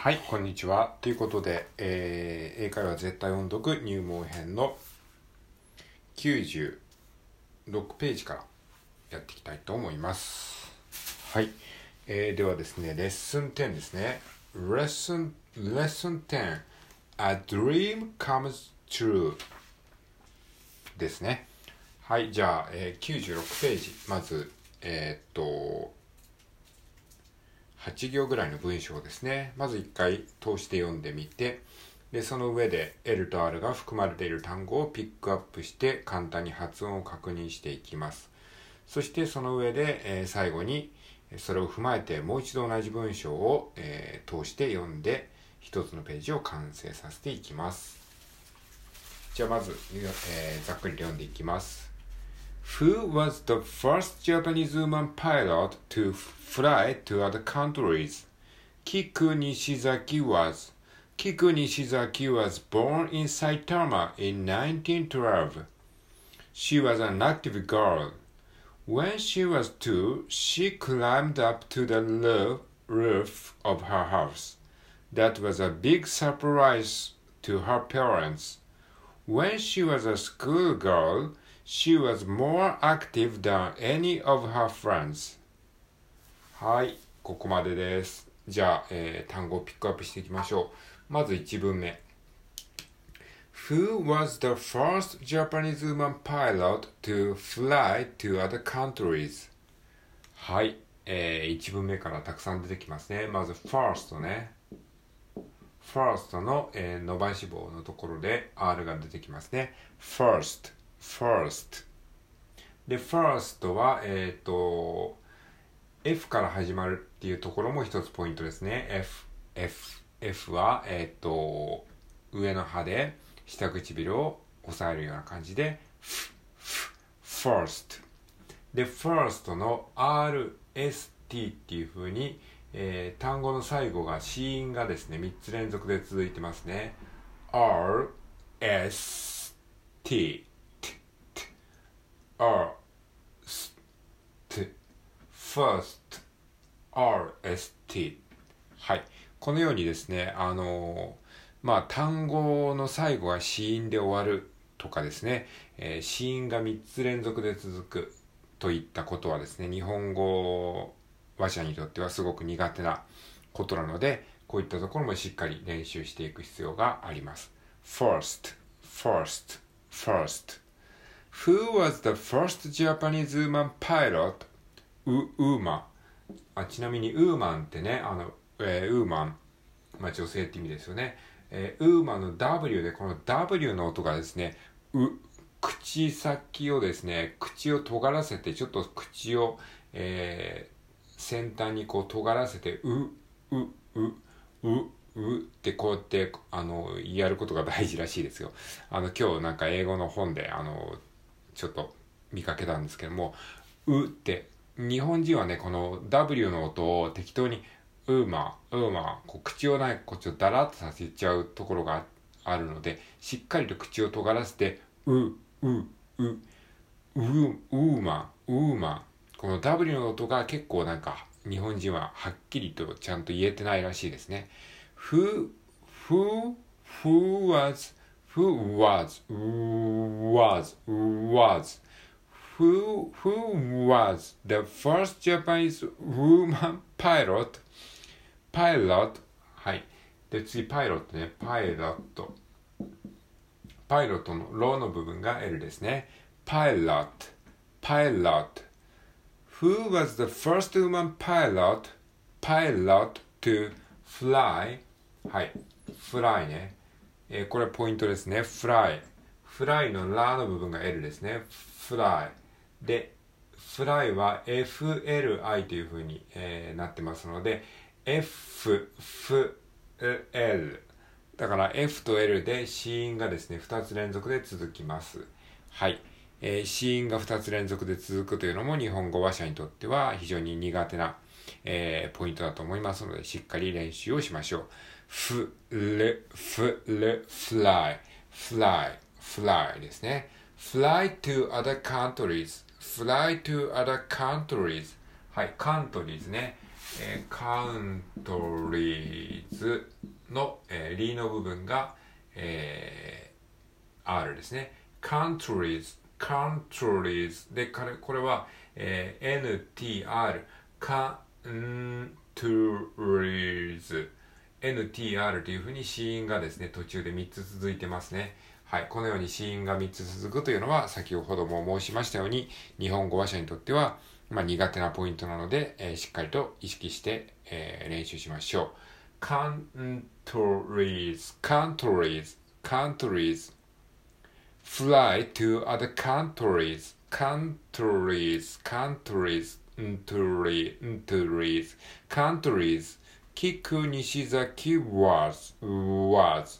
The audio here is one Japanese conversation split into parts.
はい、こんにちは。ということで、英会話絶対音読入門編の96ページからやっていきたいと思います。はい、ではですね、レッスン10ですね。Lesson 10 A Dream Comes True ですね。はい、じゃあ、96ページ。まず、8行ぐらいの文章ですね。まず1回通して読んでみて、でその上で L と R が含まれている単語をピックアップして簡単に発音を確認していきます。そしてその上で、最後にそれを踏まえてもう一度同じ文章を、通して読んで一つのページを完成させていきます。じゃあまず、ざっくり読んでいきます。Who was the first Japanese woman pilot to fly to other countries? Kiku Nishizaki was. Kiku Nishizaki was born in Saitama in 1912. She was an active girl. When she was 2, she climbed up to the roof of her house. That was a big surprise to her parents. When she was a schoolgirl, she was more active than any of her friends. はい、ここまでです。じゃあ、単語をピックアップしていきましょう。まず1文目。Who was the first Japanese woman pilot to fly to other countries? はい、1文目からたくさん出てきますね。まず first ね。first の、伸ばし棒のところで R が出てきますね。first で first はF から始まるっていうところも一つポイントですね。F は上の歯で下唇を押さえるような感じで first で first の RST っていう風に、単語の最後が子音がですね3つ連続で続いてますね。RST first RST はい、このようにですね単語の最後が子音で終わるとかですね、子音が3つ連続で続くといったことはですね、日本語話者にとってはすごく苦手なことなので、こういったところもしっかり練習していく必要があります。First Who was the first Japanese woman pilot? ウーマン。ちなみにウーマンってね、ウーマン、女性って意味ですよね。ウーマンの W で、この W の音がですね、口先をですね、口を尖らせて、ちょっと口を、先端にこう尖らせて、ってこうやってやることが大事らしいですよ。今日なんか英語の本でちょっと見かけたんですけども、って日本人はねこの W の音を適当にウーマーこう口をこっちをダラッとさせちゃうところがあるので、しっかりと口を尖らせてウーマー、この W の音が結構なんか日本人ははっきりとちゃんと言えてないらしいですね。Who was the first Japanese woman pilot? はい。で、次、パイロットね。パイロットのローの部分が L ですね。パイロット。Who was the first woman pilot to fly? はい。fly ね。これポイントですね。fly のラの部分が L ですね。fly で、fly は FLI という風に、なってますので、L だから F と L で子音がですね、2つ連続で続きます。はい。子音が2つ連続で続くというのも日本語話者にとっては非常に苦手な、ポイントだと思いますので、しっかり練習をしましょう。fly ですね。fly to other countries はい、countries ね。 カウントリーズの、リーの部分が、R ですね。countries で、これは、NTR countries NTR というふうに子音がですね、途中で3つ続いてますね。はい。このように子音が3つ続くというのは、先ほども申しましたように、日本語話者にとっては、苦手なポイントなので、しっかりと意識して、練習しましょう。countries fly to other countriesキク西崎 was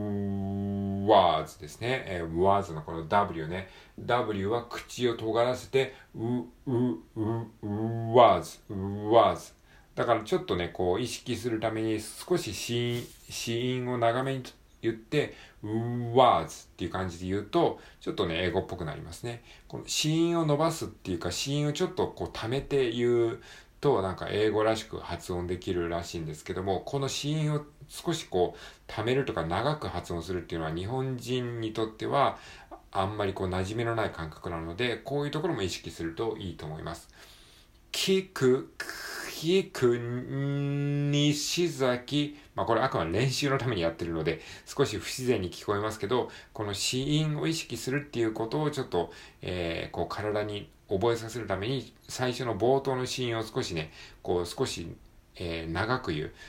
ですね。was のこの W ね。W は口を尖らせて、was。だからちょっとね、こう意識するために少し子音を長めに言って、was っていう感じで言うと、ちょっとね、英語っぽくなりますね。この子音を伸ばすっていうか、子音をちょっとこう溜めて言うと、なんか英語らしく発音できるらしいんですけども、この子音を少しこう溜めるとか長く発音するっていうのは日本人にとってはあんまりこう馴染みのない感覚なので、こういうところも意識するといいと思います。西崎。これあくまで練習のためにやってるので、少し不自然に聞こえますけど、この子音を意識するっていうことをちょっと、こう体に覚えさせるために、最初の冒頭の子音を少しね、こう少し、長く言う。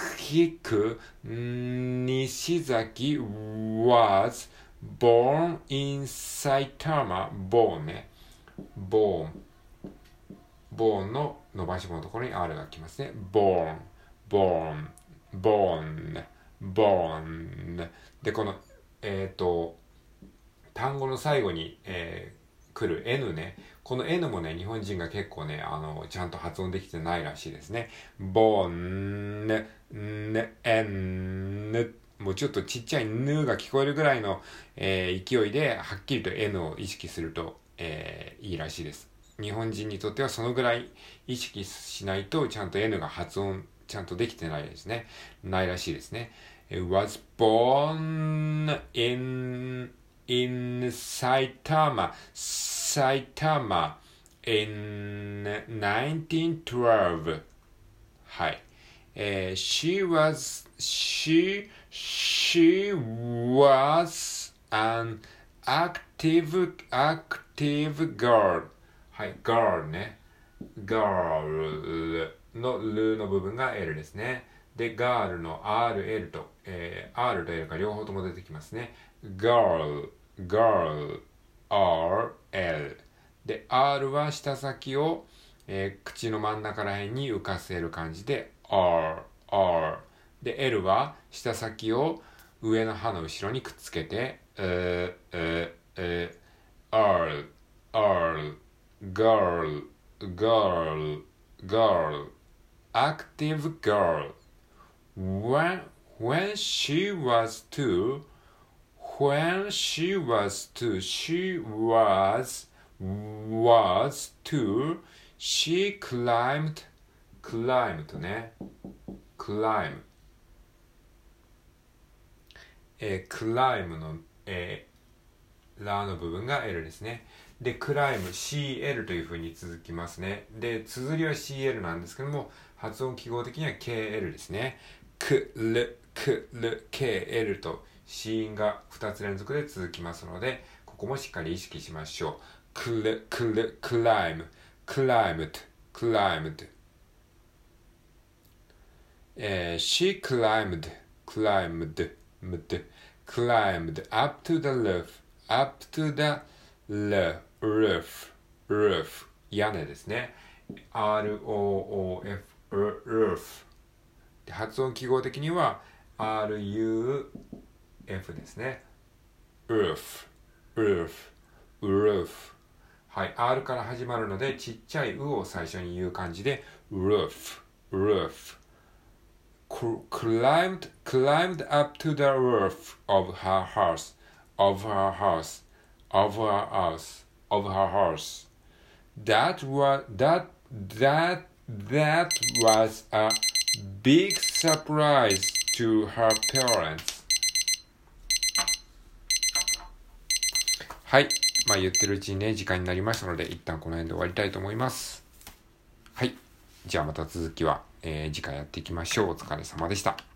西崎 was born in Saitama born ね。born の伸ばし棒のところに R が来ますね。born で、この、単語の最後に、来る N ね。この N もね、日本人が結構ね、ちゃんと発音できてないらしいですね。born N もうちょっとちっちゃい N が聞こえるぐらいの、勢いで、はっきりと N を意識すると、いいらしいです。日本人にとってはそのぐらい意識しないとちゃんと N が発音ちゃんとできてないですね。ないらしいですね。was born in Saitama in 1912. はい。she was an active girl. はい、girl ね。girl のルの部分が L ですね。で、girl の RL と、R と L が両方とも出てきますね。girl, RL。で、R は舌先を、口の真ん中ら辺に浮かせる感じで R。で、L は舌先を上の歯の後ろにくっつけて、R。girl, active girl. When she was two, she was two, she climbed ね。climb。climb の、ラの部分が L ですね。で、クライム CL という風に続きますね。で、綴りは CL なんですけども、発音記号的には KL ですね。KL と子音が2つ連続で続きますので、ここもしっかり意識しましょう。climbed she climbed up to the roof 屋根ですね。ROOF roof 発音記号的には RUF ですね。roof はい、R から始まるのでちっちゃい U を最初に言う感じで roof climbed up to the roof of her house. That That was a big surprise to her parents. はい。言ってるうちにね、時間になりましたので、一旦この辺で終わりたいと思います。はい。じゃあまた続きは、次回やっていきましょう。お疲れ様でした。